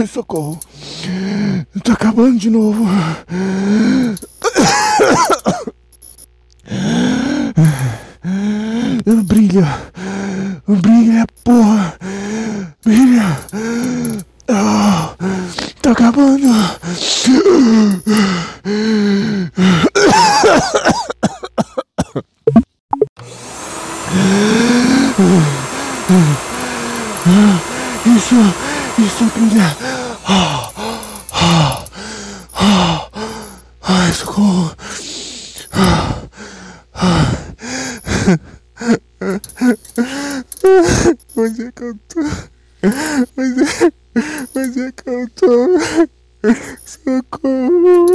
socorro. Tá acabando de novo. Brilha. Brilha, porra. Brilha. Ah, tá acabando. Isso brilha. Ai, socorro. Onde é que eu tô? Onde é que eu tô? Socorro.